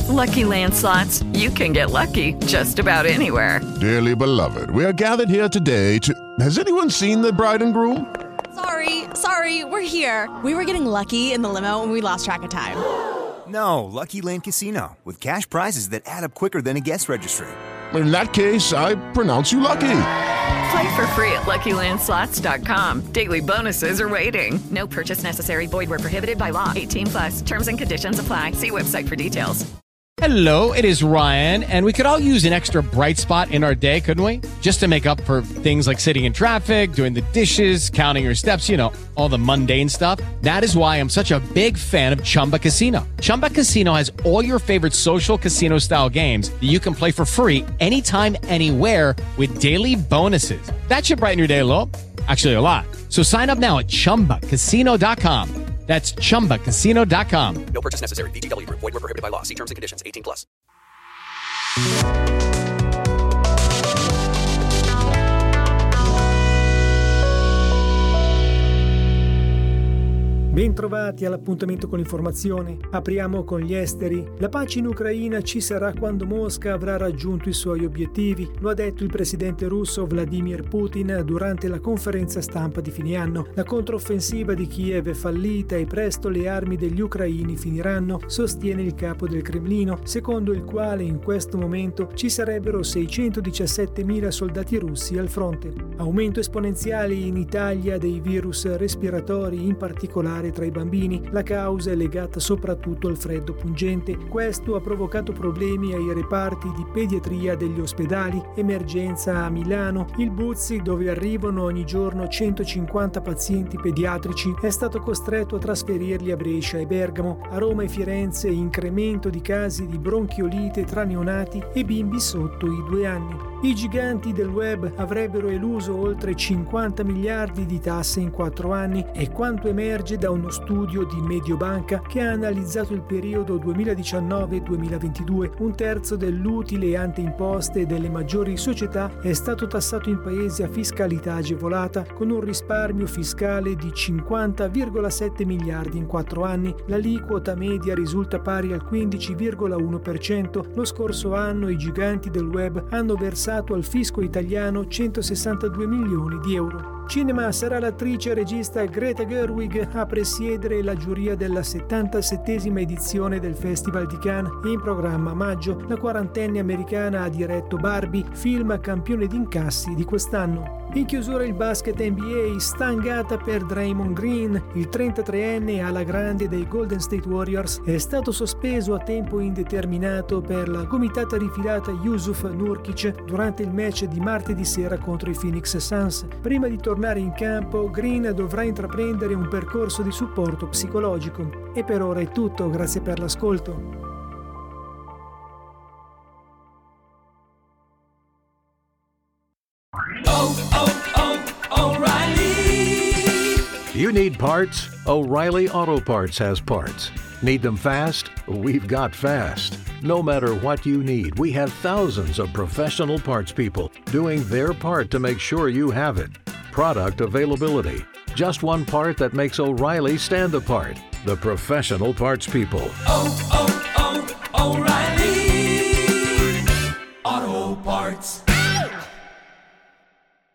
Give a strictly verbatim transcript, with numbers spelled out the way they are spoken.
Lucky Land Slots, you can get lucky just about anywhere. Dearly beloved, we are gathered here today to... Has anyone seen the bride and groom? Sorry, sorry, we're here. We were getting lucky in the limo and we lost track of time. No, Lucky Land Casino, with cash prizes that add up quicker than a guest registry. In that case, I pronounce you lucky. Play for free at Lucky Land Slots dot com. Daily bonuses are waiting. No purchase necessary. Void where prohibited by law. eighteen plus. Terms and conditions apply. See website for details. Hello, it is Ryan, and we could all use an extra bright spot in our day, couldn't we? Just to make up for things like sitting in traffic, doing the dishes, counting your steps, you know, all the mundane stuff. That is why I'm such a big fan of Chumba Casino. Chumba Casino has all your favorite social casino-style games that you can play for free anytime, anywhere with daily bonuses. That should brighten your day a little. Actually, a lot. So sign up now at chumba casino dot com. That's chumba casino dot com. No purchase necessary. V G W. Void where prohibited by law. See terms and conditions. eighteen plus. Bentrovati all'appuntamento con l'informazione. Apriamo con gli esteri. La pace in Ucraina ci sarà quando Mosca avrà raggiunto i suoi obiettivi, lo ha detto il presidente russo Vladimir Putin durante la conferenza stampa di fine anno. La controffensiva di Kiev è fallita e presto le armi degli ucraini finiranno, sostiene il capo del Cremlino, secondo il quale in questo momento ci sarebbero seicentodiciassettemila soldati russi al fronte. Aumento esponenziale in Italia dei virus respiratori, in particolare tra i bambini. La causa è legata soprattutto al freddo pungente. Questo ha provocato problemi ai reparti di pediatria degli ospedali. Emergenza a Milano. Il Buzzi, dove arrivano ogni giorno centocinquanta pazienti pediatrici, è stato costretto a trasferirli a Brescia e Bergamo. A Roma e Firenze incremento di casi di bronchiolite tra neonati e bimbi sotto i due anni. I giganti del web avrebbero eluso oltre cinquanta miliardi di tasse in quattro anni, è quanto emerge da uno studio di Mediobanca che ha analizzato il periodo duemiladiciannove duemilaventidue. Un terzo dell'utile ante imposte delle maggiori società è stato tassato in paesi a fiscalità agevolata, con un risparmio fiscale di cinquanta virgola sette miliardi in quattro anni. L'aliquota media risulta pari al quindici virgola uno per cento. Lo scorso anno i giganti del web hanno versato al fisco italiano centosessantadue milioni di euro. Cinema sarà l'attrice e regista Greta Gerwig a presiedere la giuria della settantasettesima edizione del Festival di Cannes. In programma a maggio, la quarantenne americana ha diretto Barbie, film campione di incassi di quest'anno. In chiusura il basket N B A, stangata per Draymond Green. Il trentatreenne alla grande dei Golden State Warriors è stato sospeso a tempo indeterminato per la gomitata rifilata Yusuf Nurkic durante il match di martedì sera contro i Phoenix Suns. Prima di tornare in campo, Green dovrà intraprendere un percorso di supporto psicologico. E per ora è tutto, grazie per l'ascolto. Oh, oh, oh, O'Reilly! You need parts? O'Reilly Auto Parts has parts. Need them fast? We've got fast. No matter what you need, we have thousands of professional parts people doing their part to make sure you have it. Product availability. Just one part that makes O'Reilly stand apart. The professional parts people. Oh, oh, oh, O'Reilly!